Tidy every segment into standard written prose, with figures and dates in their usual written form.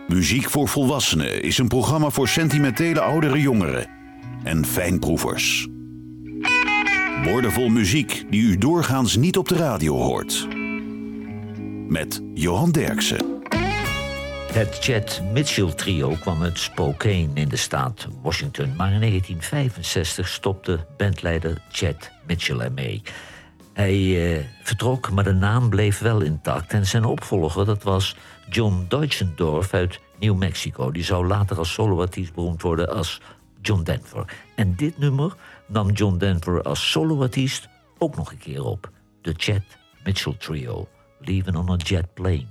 Muziek voor Volwassenen is een programma voor sentimentele oudere jongeren en fijnproevers. Woordenvol muziek die u doorgaans niet op de radio hoort. Met Johan Derksen. Het Chet Mitchell trio kwam uit Spokane in de staat Washington. Maar in 1965 stopte bandleider Chet Mitchell ermee. Hij vertrok, maar de naam bleef wel intact. En zijn opvolger, dat was John Deutschendorf uit New Mexico. Die zou later als soloartiest beroemd worden als John Denver. En dit nummer nam John Denver als soloartiest ook nog een keer op. De Chet Mitchell Trio, Leaving on a Jet Plane.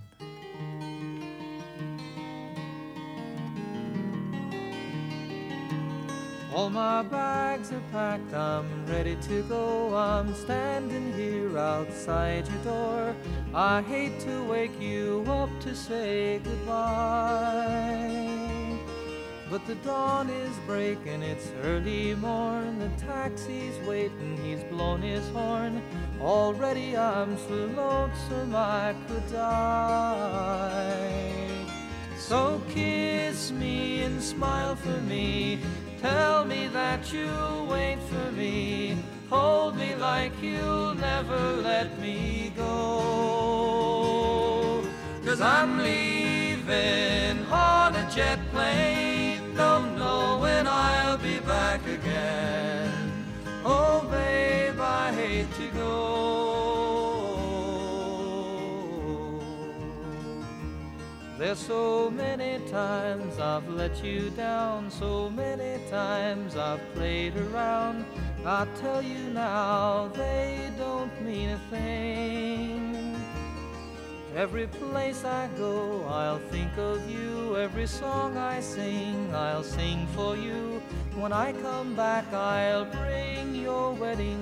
All my bags are packed, I'm ready to go. I'm standing here outside your door. I hate to wake you up to say goodbye, but the dawn is breaking, it's early morn. The taxi's waiting, he's blown his horn. Already I'm so lonesome I could die. So kiss me and smile for me. Tell me that you'll wait for me. Hold me like you'll never let me go. 'Cause I'm leaving on a jet plane. Don't know when I'll be back again. Oh babe, I hate to go. There's so many times I've let you down, so many times I've played around. I tell you now, they don't mean a thing. Every place I go, I'll think of you. Every song I sing, I'll sing for you. When I come back, I'll bring your wedding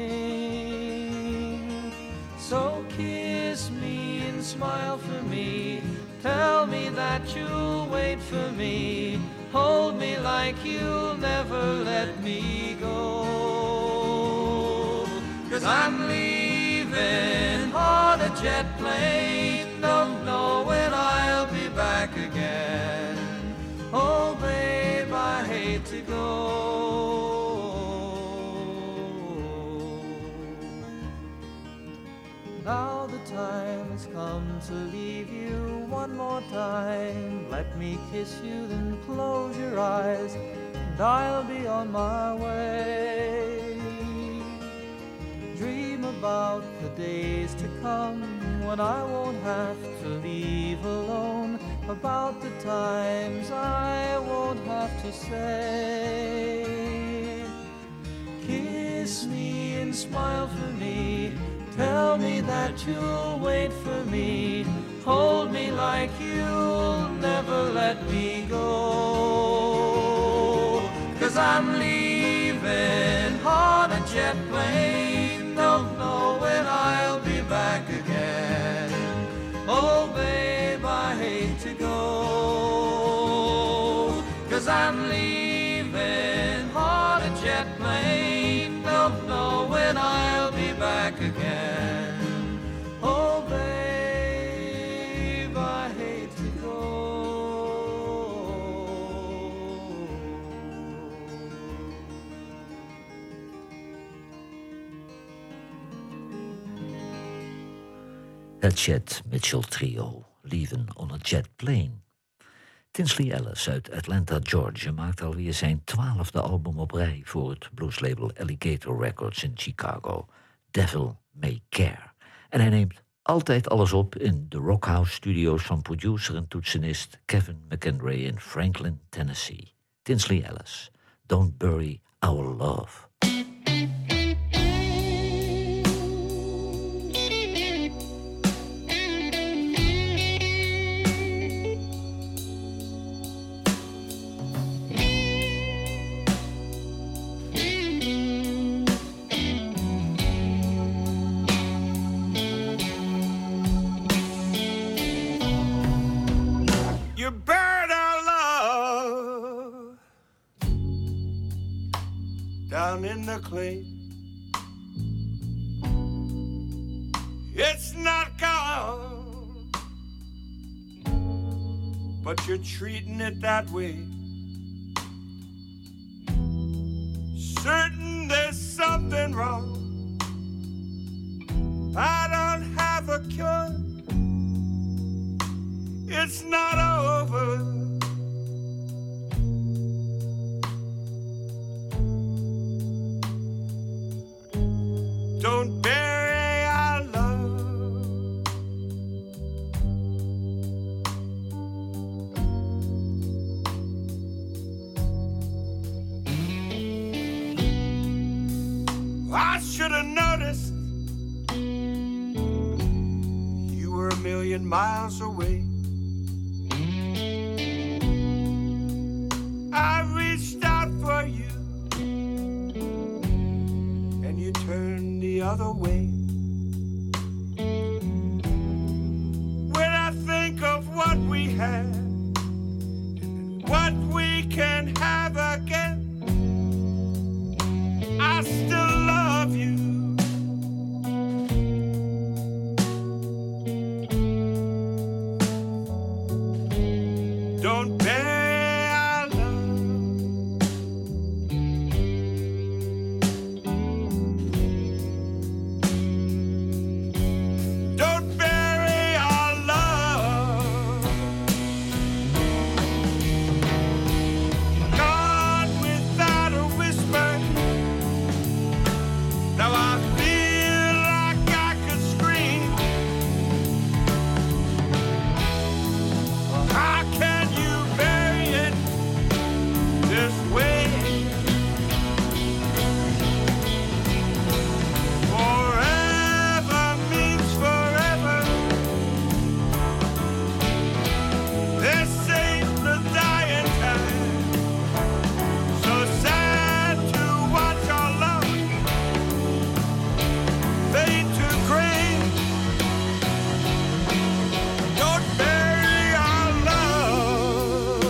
ring. So kiss me and smile for me. Tell me that you'll wait for me. Hold me like you'll never let me go. 'Cause I'm leaving on a jet plane. Don't know when I'll be back again. Oh babe, I hate to go. Now the time has come to leave you one more time. Let me kiss you, then close your eyes, and I'll be on my way. Dream about the days to come when I won't have to leave alone. About the times I won't have to say. Kiss me and smile for me. Tell me that you'll wait for me. Hold me like you'll never let me go. 'Cause I'm leaving on a jet plane. Don't know when I'll be back again. Oh babe, I hate to go. 'Cause I'm leaving on a jet plane. Don't know when I'll be back again. Oh babe, I hate to go. Het Chet Mitchell Trio, Leaving on a Jet Plane. Tinsley Ellis uit Atlanta, Georgia maakt alweer zijn 12e album op rij voor het blueslabel Alligator Records in Chicago. Devil May Care. En hij neemt altijd alles op in de Rockhouse Studios van producer en toetsenist Kevin McEndray in Franklin, Tennessee. Tinsley Ellis, Don't Bury Our Love. You buried our love down in the clay. It's not gone. but you're treating it that way. Certain there's something wrong. I don't have a cure. It's not over. Don't bury our love. I should have noticed you were a million miles away. I reached out for you and you turned the other way. When I think of what we had and what we can have again, I still love you. Don't bury our love. Don't bury our love. Gone without a whisper. Now I feel like I could scream. How can you bury it this way? Forever means forever. This ain't the dying time. So sad to watch our love fade to gray. Don't bury our love.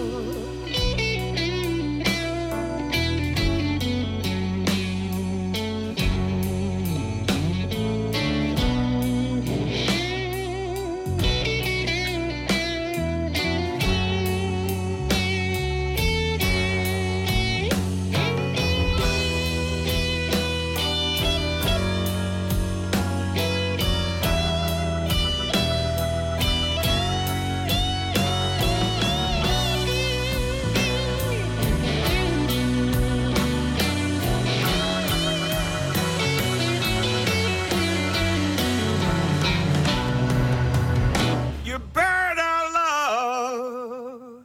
You buried our love.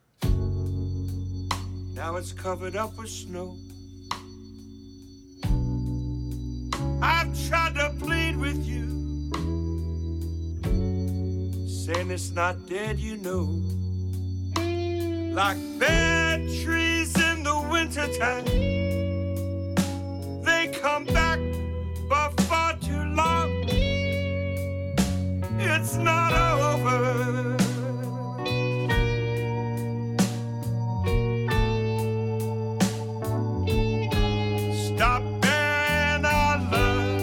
Now it's covered up with snow. I've tried to plead with you, saying it's not dead, you know. Like bad trees in the wintertime, they come back but for too long. It's not over. Stop burying our love.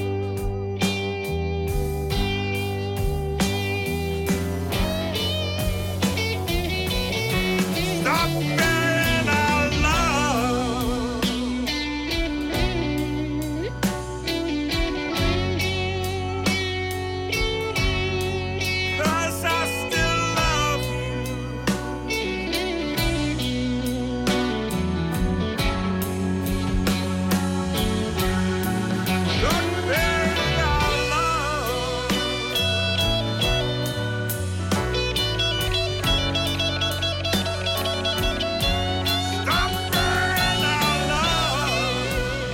Stop burying our love. 'Cause I still love you. Don't bury our love. Stop burying our love.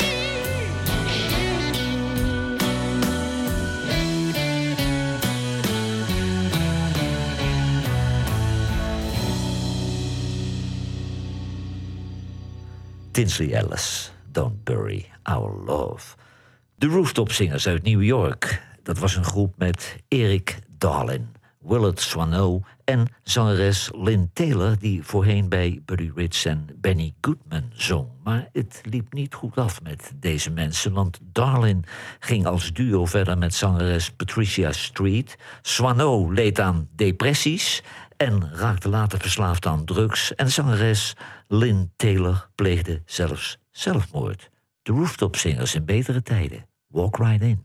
Tinsley Ellis, Don't Bury Our Love. De Rooftop Singers uit New York. Dat was een groep met Eric Darlin, Willard Swanow en zangeres Lynn Taylor, die voorheen bij Buddy Rich en Benny Goodman zong. Maar het liep niet goed af met deze mensen, want Darlin ging als duo verder met zangeres Patricia Street. Swanow leed aan depressies en raakte later verslaafd aan drugs. En de zangeres Lynn Taylor pleegde zelfs zelfmoord. De Rooftop Singers in betere tijden. Walk Right In.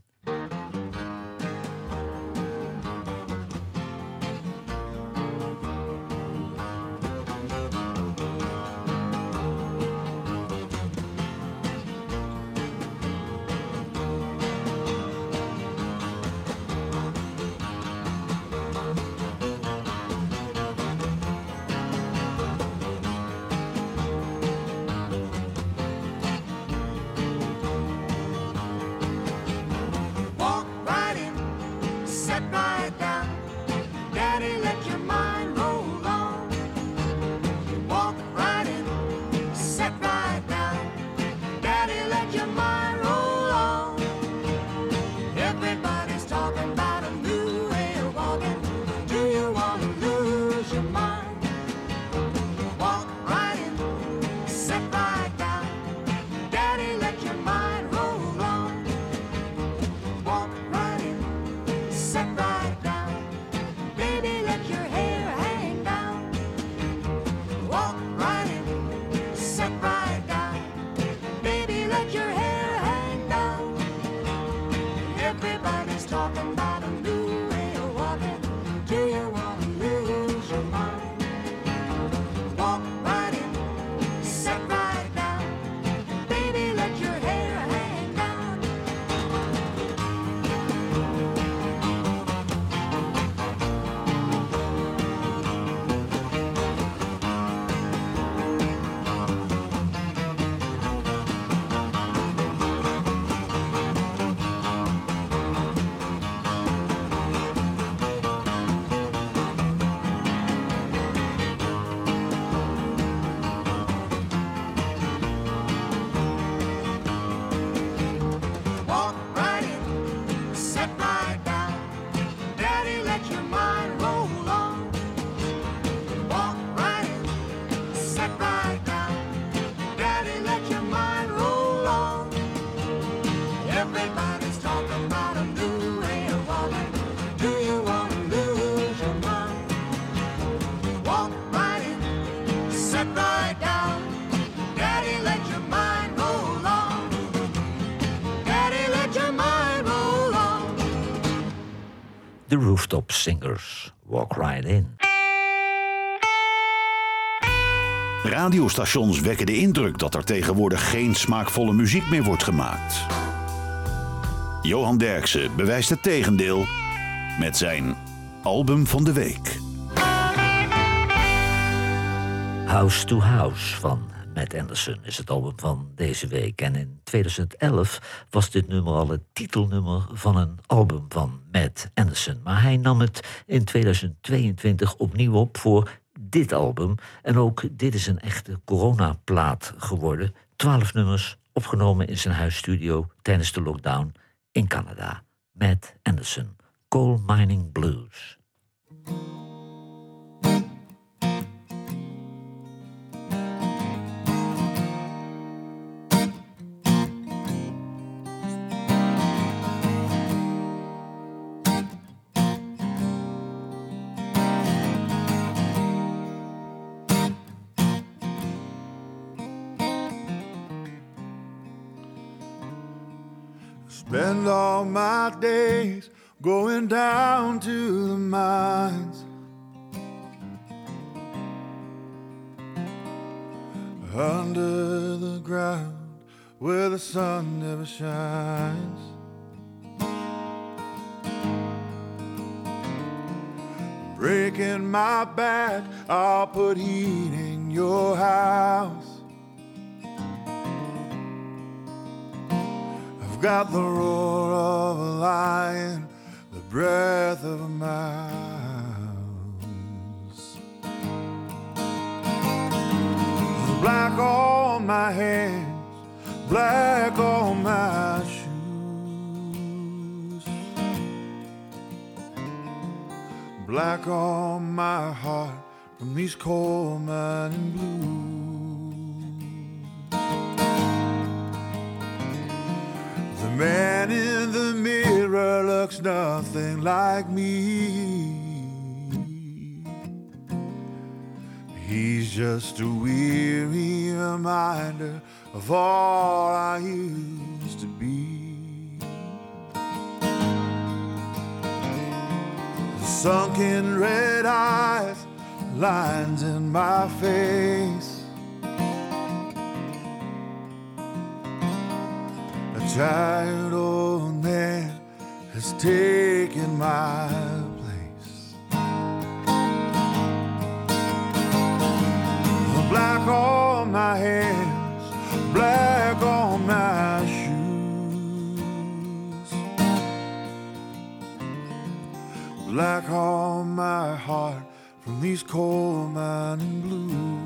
The Rooftop Singers, Walk Right In. Radiostations wekken de indruk dat er tegenwoordig geen smaakvolle muziek meer wordt gemaakt. Johan Derksen bewijst het tegendeel met zijn album van de week. House to House van Matt Anderson is het album van deze week. En in 2011 was dit nummer al het titelnummer van een album van Matt Anderson. Maar hij nam het in 2022 opnieuw op voor dit album. En ook dit is een echte coronaplaat geworden. 12 nummers opgenomen in zijn huisstudio tijdens de lockdown in Canada. Matt Anderson, Coal Mining Blues. Spend all my days going down to the mines, under the ground where the sun never shines. Breaking my back, I'll put heat in your house. I've got the roar of a lion, the breath of a mouse. Black on my hands, black on my shoes, black on my heart from these coal mining blues. The man in the mirror looks nothing like me. just a weary reminder of all I used to be. The sunken red eyes, lines in my face, a tired old man has taken my place. Black on my hands, black on my shoes, black on my heart from these coal mining blues.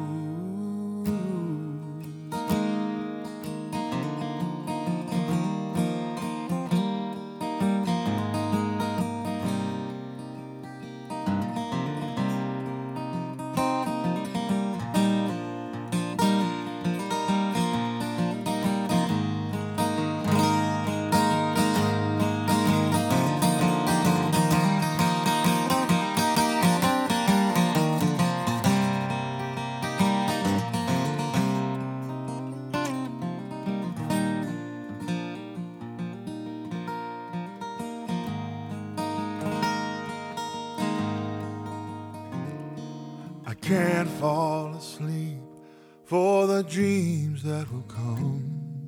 Can't fall asleep for the dreams that will come.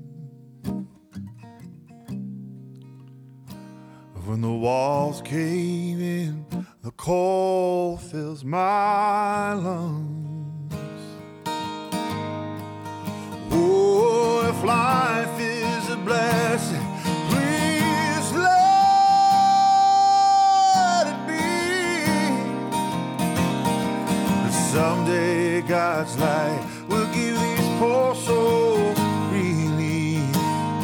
When the walls cave in, the cold fills my lungs. Oh, if life is a blessing, please let it be. Someday God's light will give these poor souls relief.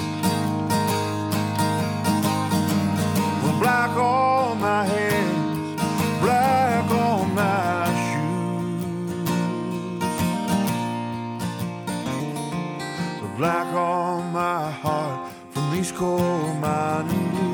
Black on my hands, black on my shoes, black on my heart from these coal mining blues.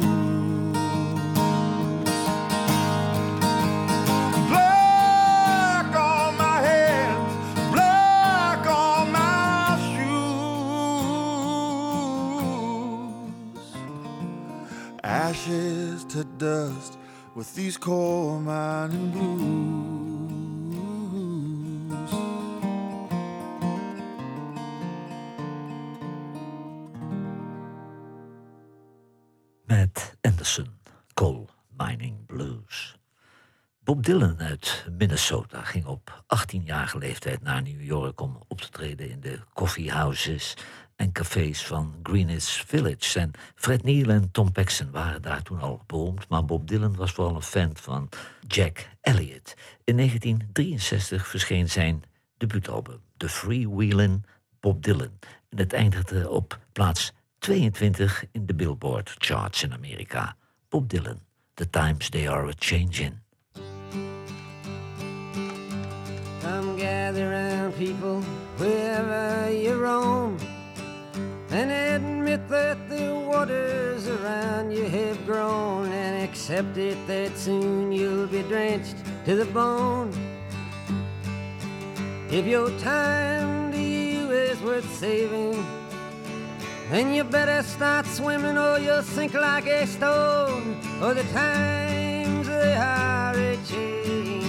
Ashes to dust with these coal mining blues. Matt Anderson, Coal Mining Blues. Bob Dylan uit Minnesota ging op 18-jarige leeftijd naar New York om op te treden in de coffeehouses en cafés van Greenwich Village. En Fred Neil en Tom Paxton waren daar toen al beroemd, maar Bob Dylan was vooral een fan van Jack Elliott. In 1963 verscheen zijn debuutalbum, The Freewheelin' Bob Dylan. En het eindigde op plaats 22 in de Billboard charts in Amerika. Bob Dylan, The Times They Are A-Changin'. Come gather round, people, wherever you roam, and admit that the waters around you have grown, and accept it that soon you'll be drenched to the bone. If your time to you is worth saving, then you better start swimming or you'll sink like a stone, or the times they are a-changing.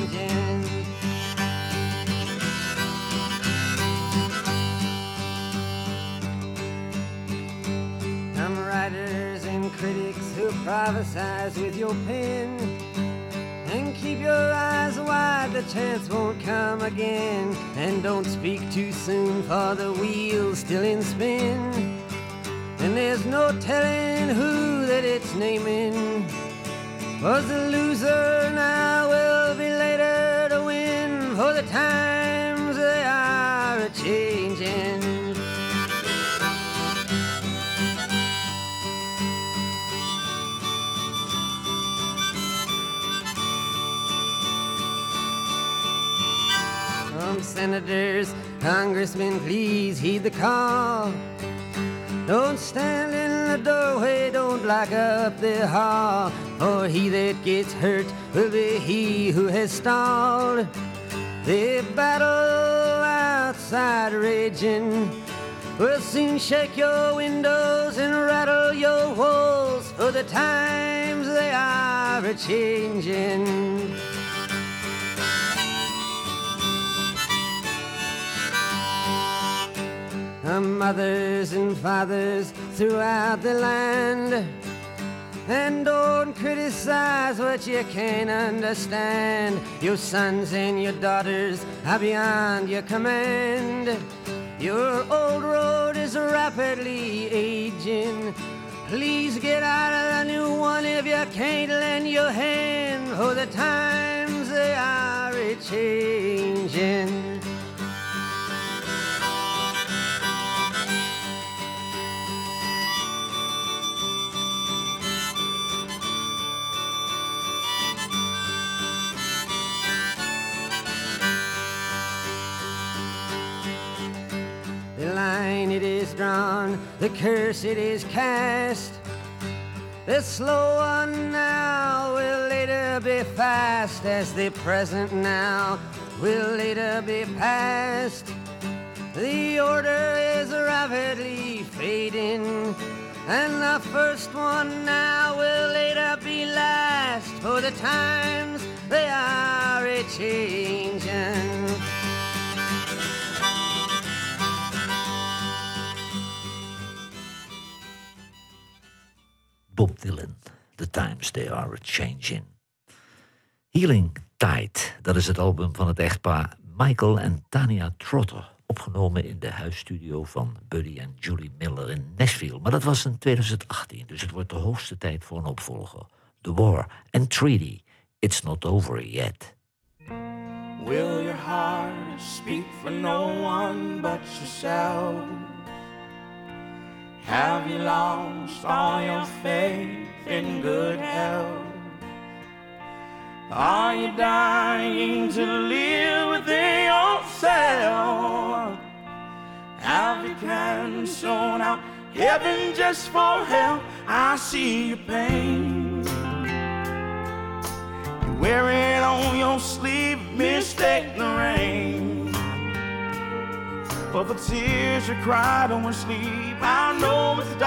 Writers and critics who prophesize with your pen, and keep your eyes wide, the chance won't come again. And don't speak too soon, for the wheel's still in spin, and there's no telling who that it's naming. Was the loser now will be later to win, for the times they are a-changing. Senators, congressmen, please heed the call. Don't stand in the doorway, don't block up the hall, for he that gets hurt will be he who has stalled. The battle outside raging will soon shake your windows and rattle your walls, for the times they are a-changing. Mothers and fathers throughout the land, and don't criticize what you can't understand. Your sons and your daughters are beyond your command. Your old road is rapidly aging. Please get out of the new one if you can't lend your hand, for the times they are a-changing. It is drawn, the curse it is cast. The slow one now will later be fast, as the present now will later be past. The order is rapidly fading, and the first one now will later be last, for the times they are a-changing. Bob Dylan, The Times They Are A-Changing. Healing Tide, dat is het album van het echtpaar Michael en Tanya Trotter, opgenomen in de huisstudio van Buddy en Julie Miller in Nashville. Maar dat was in 2018, dus het wordt de hoogste tijd voor een opvolger. The War and Treaty, It's Not Over Yet. Will your heart speak for no one but yourself? Have you lost all your faith in good health? Are you dying to live within yourself? Have you canceled out heaven just for hell? I see your pain. You wear it on your sleeve, mistake the rain. For the tears you cried on sleep, I know it's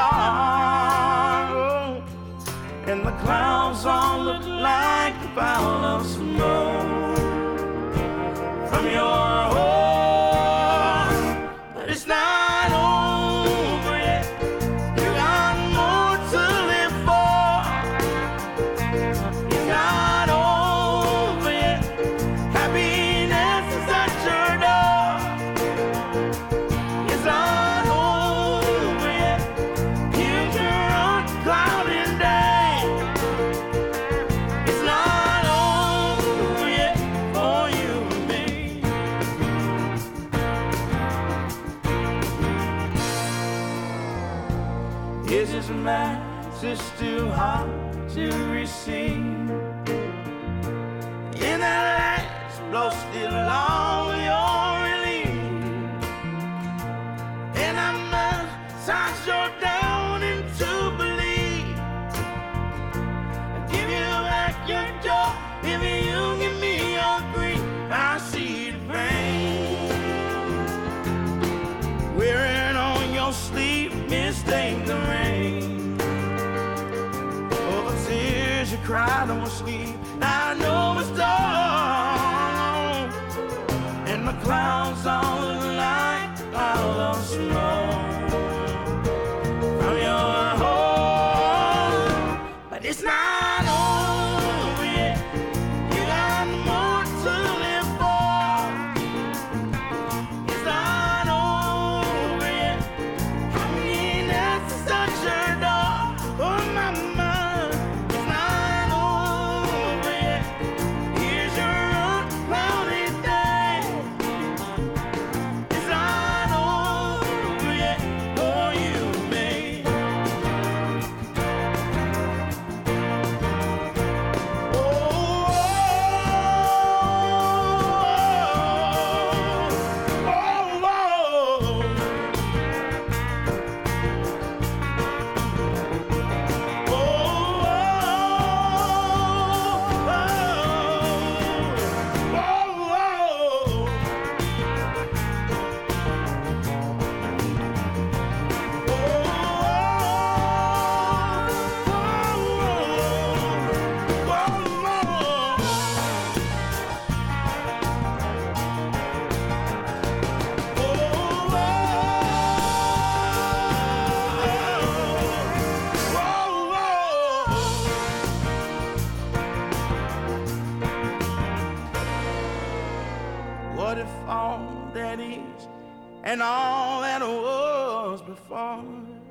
dark, and the clouds all look like a pile of snow from your home. But it's not over yet. You got more to live for. It's not over yet. Happiness is at your door. It's not over yet. Future unclouded day. It's not over yet for you and me. Is this message too hard to receive? In that last blow, still all your relief, and I massage your down into belief. Give you back your joy if you give me your grief. I see the pain wearing on your sleeve, mistake the rain. Oh, the tears you cried on sleep, I know it's dawn, and the clouds all look like a pile of snow from your home. But it's not over yet. You got more to live for. It's not over yet. Happiness is at your door. Oh, my mind. It's not over yet. Here's what if all that is and all that was before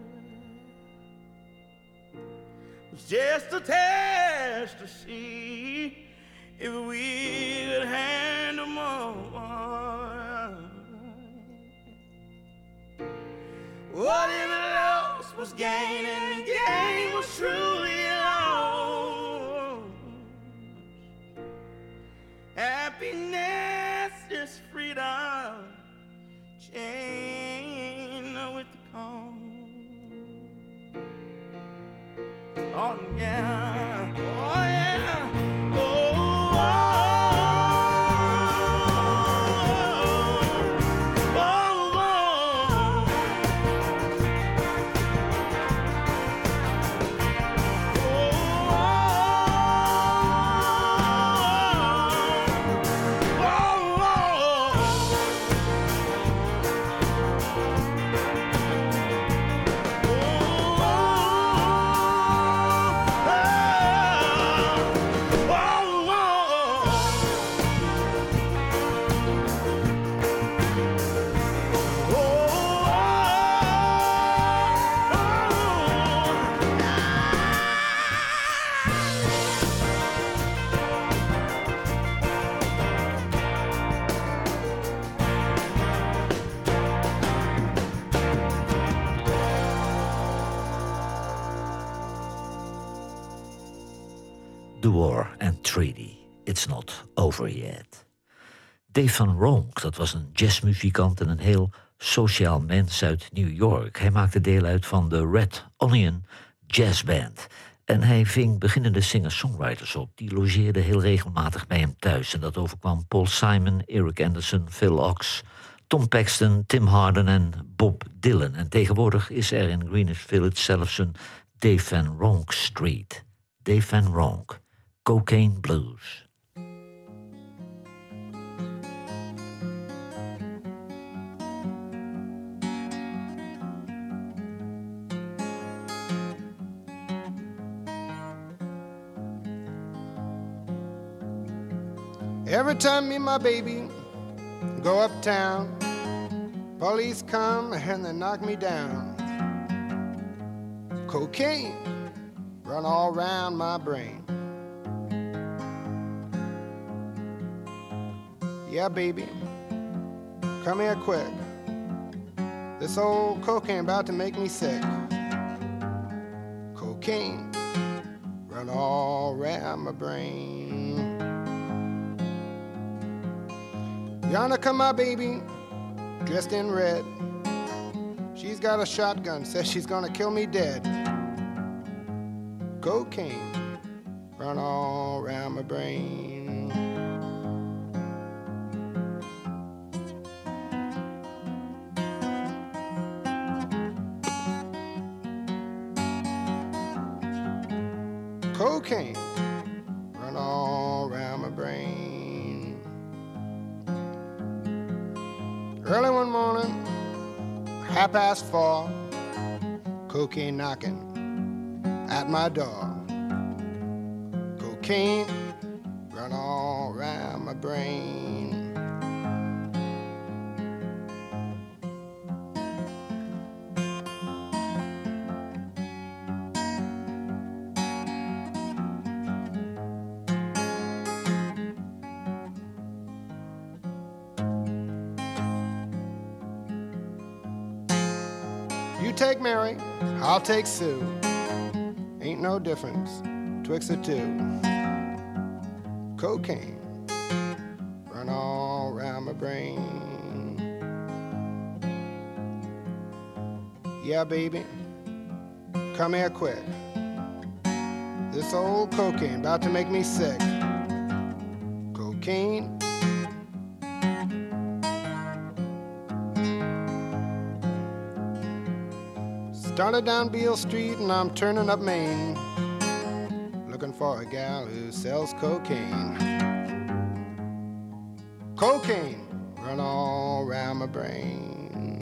was just a test to see if we could handle more? What if loss was gain and gain was truly lost? Happiness is freedom, chain with the call. Oh yeah, oh yeah, oh, oh, oh, oh, The War and Treaty, It's Not Over Yet. Dave Van Ronk, dat was een jazzmuzikant en een heel sociaal mens uit New York. Hij maakte deel uit van de Red Onion Jazz Band. En hij ving beginnende singer-songwriters op. Die logeerden heel regelmatig bij hem thuis. En dat overkwam Paul Simon, Eric Anderson, Phil Ochs, Tom Paxton, Tim Hardin en Bob Dylan. En tegenwoordig is er in Greenwich Village zelfs een Dave Van Ronk Street. Dave Van Ronk, Cocaine Blues. Every time me and my baby go uptown, police come and they knock me down. Cocaine run all around my brain. Yeah, baby, come here quick. This old cocaine about to make me sick. Cocaine run all around my brain. Yonder come my baby, dressed in red. She's got a shotgun, says she's gonna kill me dead. Cocaine run all around my brain. Cocaine run all around my brain. Early one morning, 4:30, cocaine knocking at my door. Cocaine run all around my brain. You take Mary, I'll take Sue. Ain't no difference twixt the two. Cocaine run all around my brain. Yeah, baby, come here quick. This old cocaine about to make me sick. Cocaine. Started down Beale Street and I'm turning up Main, looking for a gal who sells cocaine. Cocaine run all around my brain.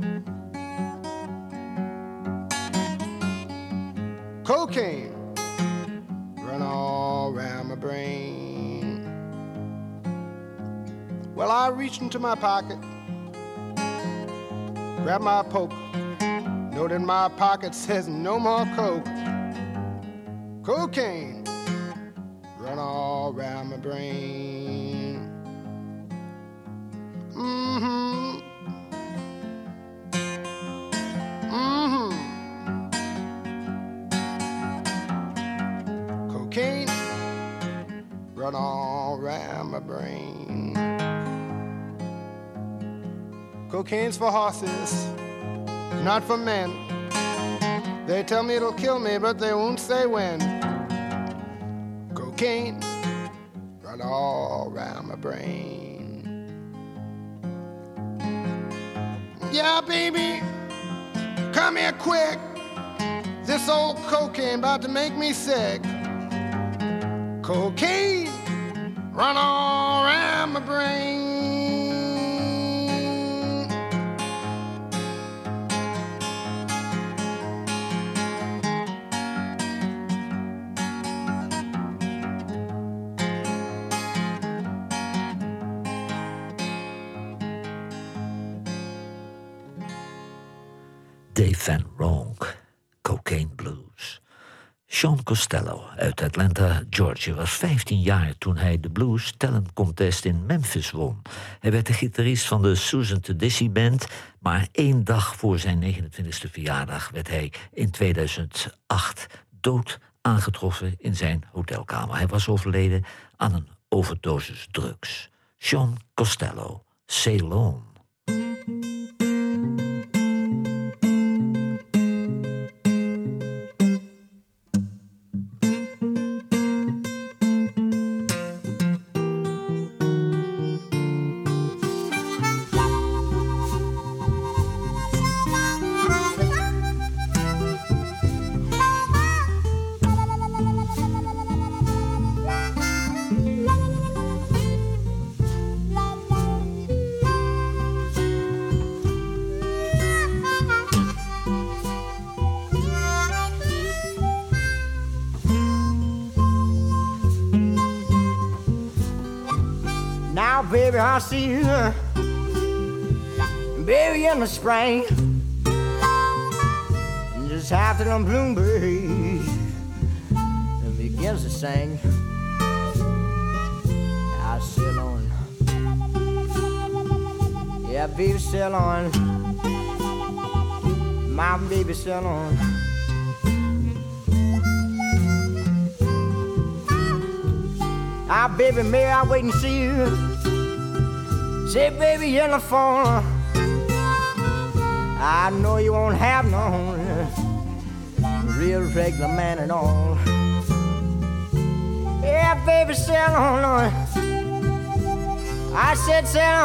Cocaine reached into my pocket, grabbed my poke. Note in my pocket says no more coke. Cocaine run all around my brain. Mm-hmm. Mm-hmm. Cocaine run all around my brain. Cocaine's for horses, not for men. They tell me it'll kill me, but they won't say when. Cocaine run all around my brain. Yeah, baby, come here quick. This old cocaine about to make me sick. Cocaine run all around my brain. Dave Van Ronk, Cocaine Blues. Sean Costello uit Atlanta, Georgia, was 15 jaar toen hij de Blues Talent Contest in Memphis won. Hij werd de gitarist van de Susan Tedeschi Band, maar 1 dag voor zijn 29e verjaardag werd hij in 2008 dood aangetroffen in zijn hotelkamer. Hij was overleden aan een overdosis drugs. Sean Costello, Sail On. Baby, I see you, baby, in the spring, just after them bluebirds and begins to sing. I sail on, yeah, baby, sail on, my baby, sail on. Ah, baby, may I wait and see you? Say, baby, in the phone, I know you won't have no real regular man at all. Yeah, baby, sail on. I said sail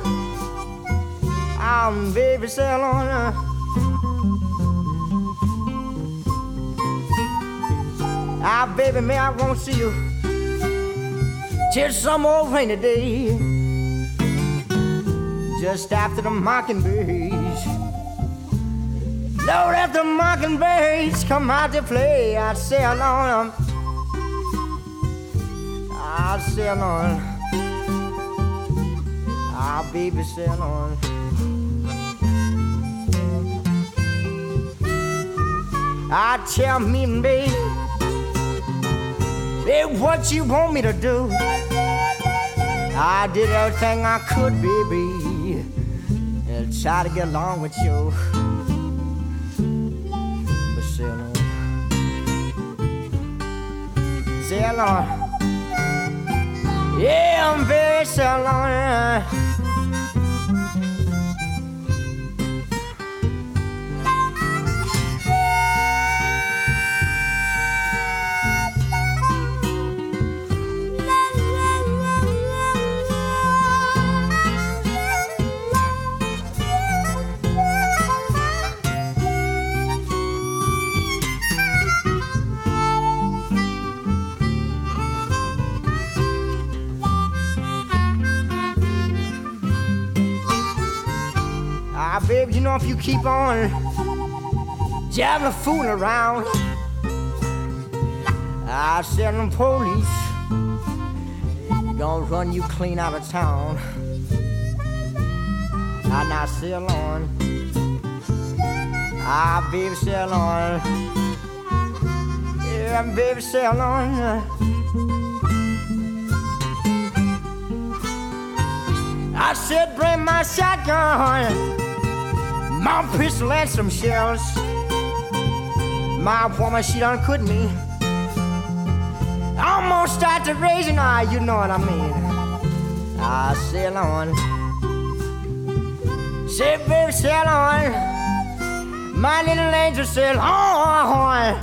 on. Baby, sail on. Baby, me, I won't see you till some old rainy day, just after the mockingbirds. Lord, after the mockingbirds come out to play, I'd sail on, I'll sail on, I'll baby sail on. I tell me, baby, what you want me to do? I did everything I could, baby, and try to get along with you. But sail on, yeah, I'm very sail on. Baby, you know if you keep on jabbing, fooling around, I'll send them police, gonna run you clean out of town. Now sail on. Baby, sail on. Yeah, baby, sail on. I said, bring my shotgun, my pistol and some shells. My woman, she done quit me. I'm gonna start to raising her, you know what I mean. I sail on. Say, baby, sail on. My little angel sail on.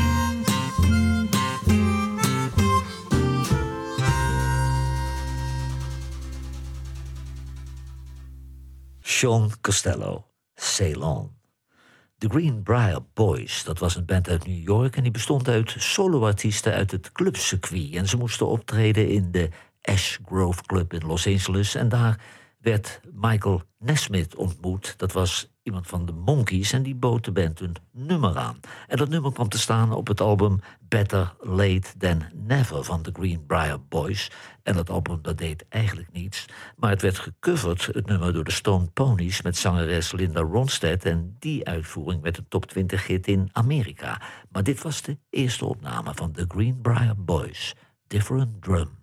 Sean Costello, Sail On. The Greenbrier Boys, dat was een band uit New York en die bestond uit soloartiesten uit het clubcircuit. En ze moesten optreden in de Ash Grove Club in Los Angeles. En daar werd Michael Nesmith ontmoet. Dat was iemand van de Monkees en die bood de band een nummer aan. En dat nummer kwam te staan op het album Better Late Than Never van de Greenbrier Boys. En dat album dat deed eigenlijk niets. Maar het werd gecoverd, het nummer, door de Stone Ponies met zangeres Linda Ronstadt. En die uitvoering werd een top 20 hit in Amerika. Maar dit was de eerste opname van de Greenbrier Boys. Different Drum.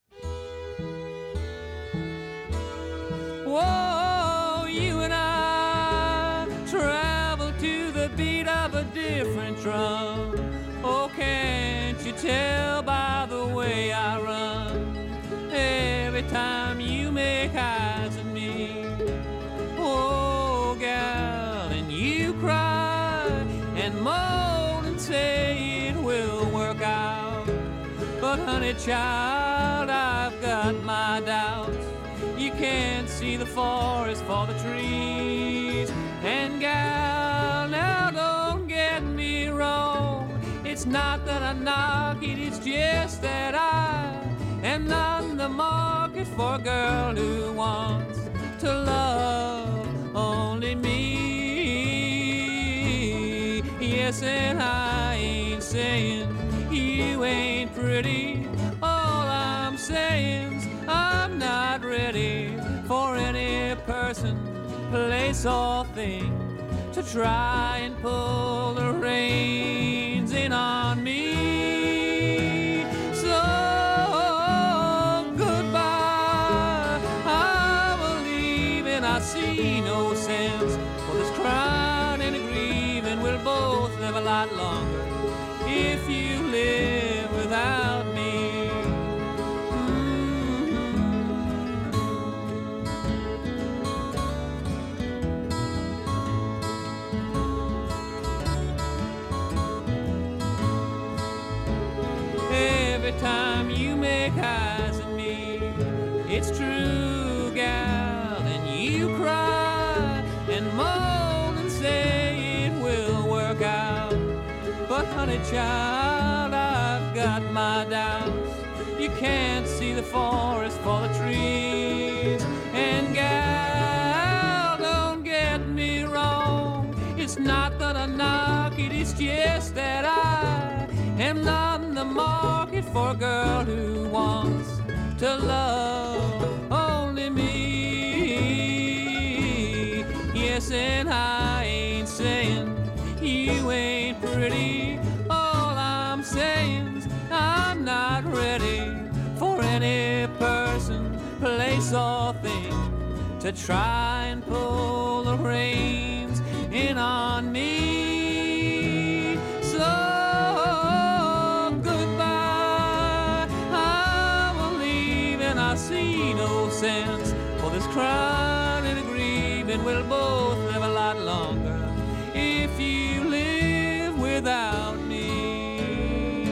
Whoa, you and I travel to the beat of a different drum. Oh, can't you tell by the way I run? Every time you make eyes at me, oh, gal, and you cry and moan and say it will work out. But honey child, I've got my doubts. You can't see the forest for the trees. And gal, now don't get me wrong. It's not that I knock it, it's just that I am not in the market for a girl who wants to love only me. Yes, and I ain't saying you ain't pretty. All I'm saying's I'm not ready for any person, place or thing to try and pull the reins in on me. So goodbye, I will leave and I see no sense for this crying and grieving. We'll both live a lot longer if you live without me. Every time you make eyes at me, it's true, gal, and you cry and moan and say it will work out. But honey child, I've got my doubts. You can't see the forest for the trees. And gal, don't get me wrong, it's not that I knock it, it's just that I am not in the market for a girl who wants to love only me. Yes, and I ain't saying you ain't pretty. All I'm saying's I'm not ready for any person, place or thing to try and pull the reins in on me. So I see no sense for this crying and grieving. We'll both live a lot longer if you live without me.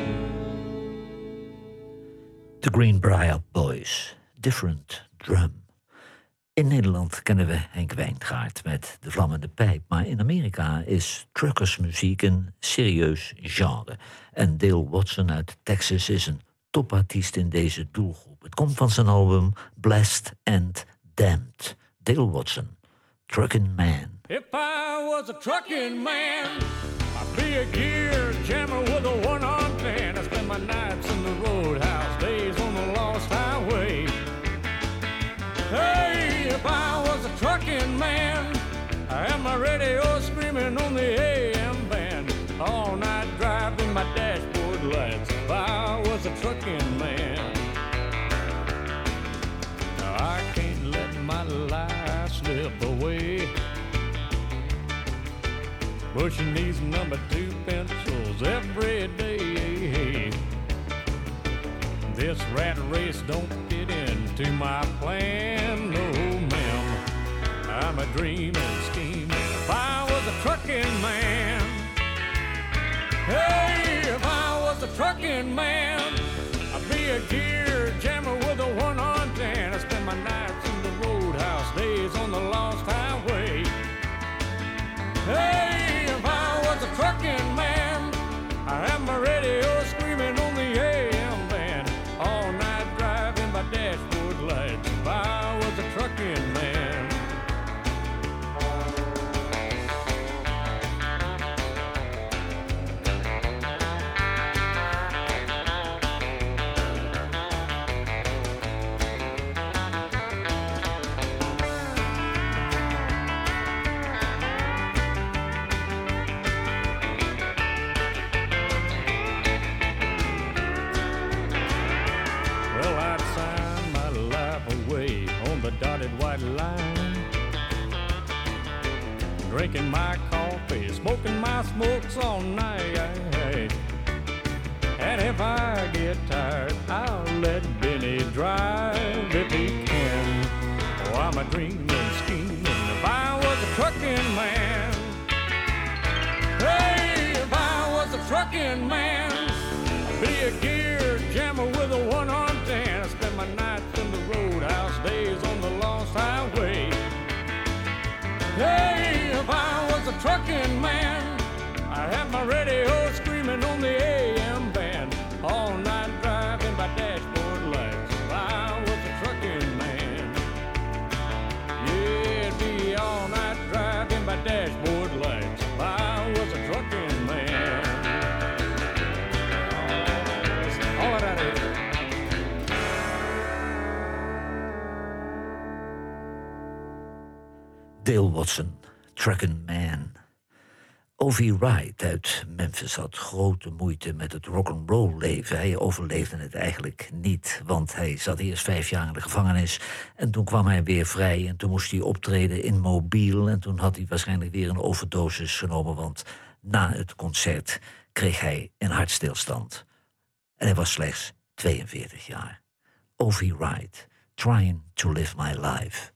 The Greenbrier Boys, Different Drum. In Nederland kennen we Henk Wijngaard met De Vlammende Pijp. Maar in Amerika is truckersmuziek een serieus genre. En Dale Watson uit Texas is een topartiest in deze doelgroep. Het komt van zijn album Blessed and Damned. Dale Watson, Truckin' Man. If I was a trucking man, I'd be a gear jammer with a one-armed band. I spend my nights in the roadhouse, days on the lost highway. Hey, if I was a trucking man, pushing these number 2 pencils every day. This rat race don't fit into my plan, no ma'am. I'm a dreaming, scheming. If I was a trucking man, hey, if I was a trucking man, I'd be a gear jammer with a one-arm tan. I spend my nights in the roadhouse, days on the lost highway. Hey, if I was a trucking man, I have my radio screaming on the AM band, all night driving by dashboard lights. If I was a trucking man. Dotted white line, drinking my coffee, smoking my smokes all night. And if I get tired, I'll let Benny drive if he can. Oh, I'm a dreaming, scheming. If I was a trucking man, hey, if I was a trucking man, I'd be a gear jammer with a one-arm tan. I spend my nights in the roadhouse, days on the lost highway. Hey, if I was a trucking man, I'd have my radio screaming on the AM band, all night driving by dashboard lights. If I was a trucking man, yeah, it'd be all night driving by dashboard lights. If I was a trucking man. All of that is. Dale Watson, Truckin' Man. O.V. Wright uit Memphis had grote moeite met het rock'n'roll leven. Hij overleefde het eigenlijk niet, want hij zat eerst 5 jaar in de gevangenis en toen kwam hij weer vrij en toen moest hij optreden in Mobile en toen had hij waarschijnlijk weer een overdosis genomen, want na het concert kreeg hij een hartstilstand. En hij was slechts 42 jaar. O.V. Wright, Trying to Live My Life.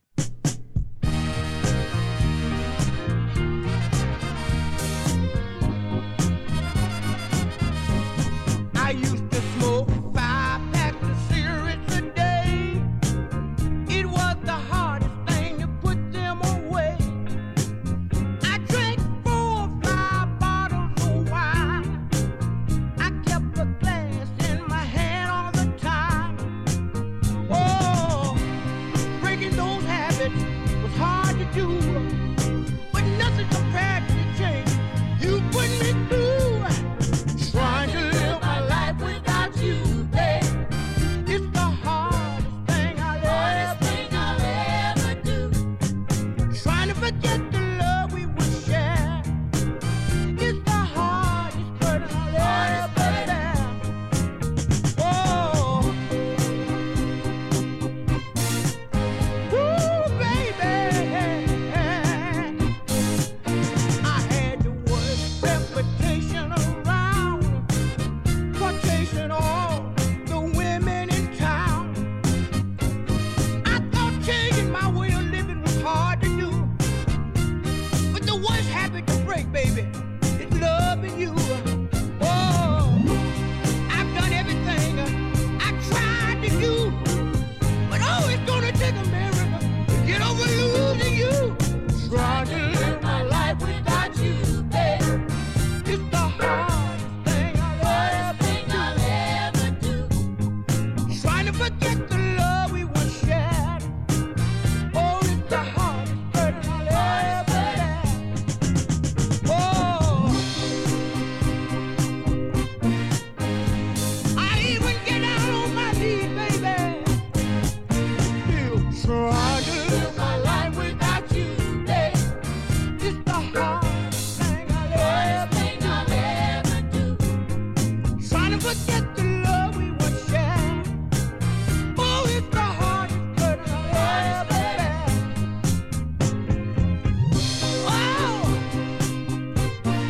I used to smoke 5 packs of cigarettes a day. It was the hardest thing to put them away. I drank 4 or 5 bottles of wine. I kept a glass in my hand all the time. Oh, breaking those habits was hard to do, but nothing compared to the change you put me through. Trying to live my life without you, babe. It's the hardest thing I'll ever do. Trying to forget the love we would share. It's the hardest burden I'll ever bear. Oh, ooh, baby, I had the worst reputation around, chasing all the women in town. I thought changing my way of living was hard to do, but the worst habit to break, baby, is loving you. Oh, I've done everything I tried to do, but oh, it's gonna take a miracle to get over losing you. Trying to live my life without you, babe. It's the hardest thing I'll ever do. Trying to forget the love we once shared. Oh, it's the hardest burden I'll ever bear. Oh, I even get out on my knees, baby. Still trying to live my life without you, babe. It's the hardest thing I'll ever do. Trying to forget the love we once shared. Oh, it's the hardest burden I'll ever bear. Oh,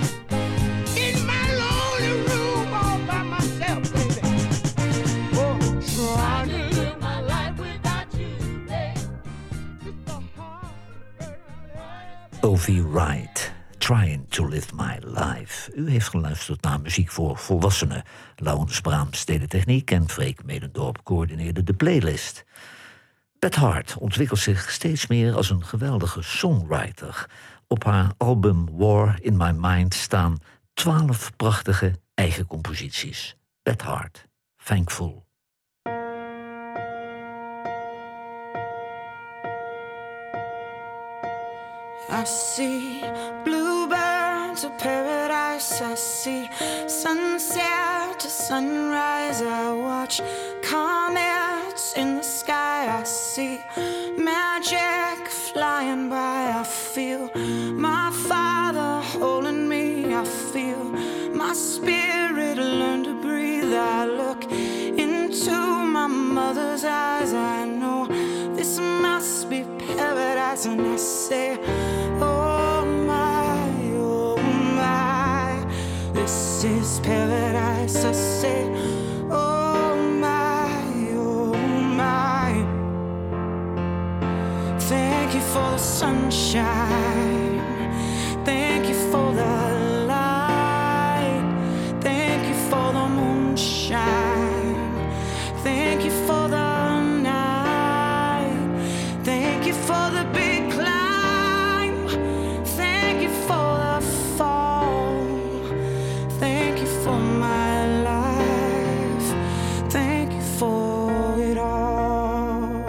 Dorothy Wright, Trying to Live My Life. U heeft geluisterd naar muziek voor volwassenen. Laurens Braams deed de techniek en Freek Medendorp coördineerde de playlist. Beth Hart ontwikkelt zich steeds meer als een geweldige songwriter. Op haar album War in My Mind staan 12 prachtige eigen composities. Beth Hart, Thankful. I see bluebirds of paradise. I see sunset to sunrise. I watch comets in the sky. I see magic flying by. I feel my Father holding me. I feel my spirit learn to breathe. I look into my mother's eyes. I know this must be paradise, and I say, oh my, this is paradise. I say, oh my, thank you for the sunshine, thank you for the light, thank you for the moonshine, thank you for the thank you for the big climb. Thank you for the fall. Thank you for my life. Thank you for it all.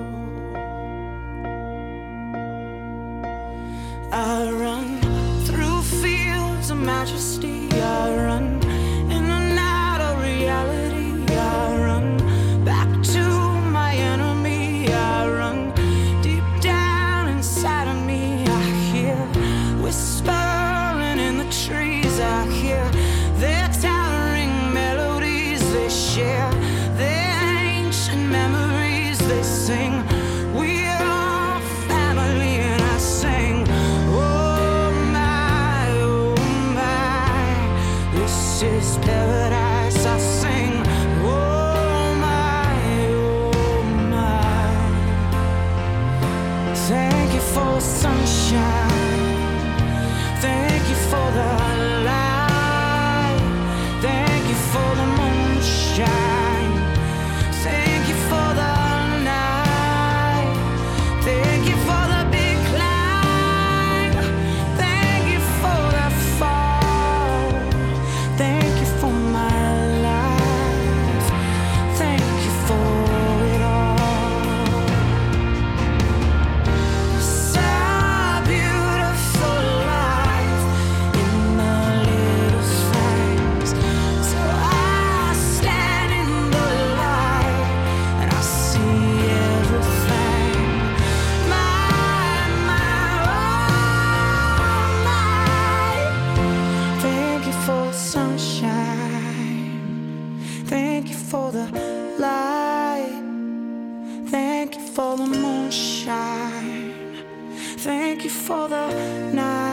I run through fields of majesty. I run in and out of reality. I run back to my enemy. I run inside of me. I hear whispering in the trees. I hear their towering melodies. They share their ancient memories. They sing, we're all family. And I sing, oh my, this is paradise. I sing, oh my, thank you for the sunshine, thank you for the light, thank you for the moonshine, thank you for the night, thank you for the big climb, thank you for the fall, thank you for my life, thank you for it all. For the light, thank you for the moonshine, thank you for the night.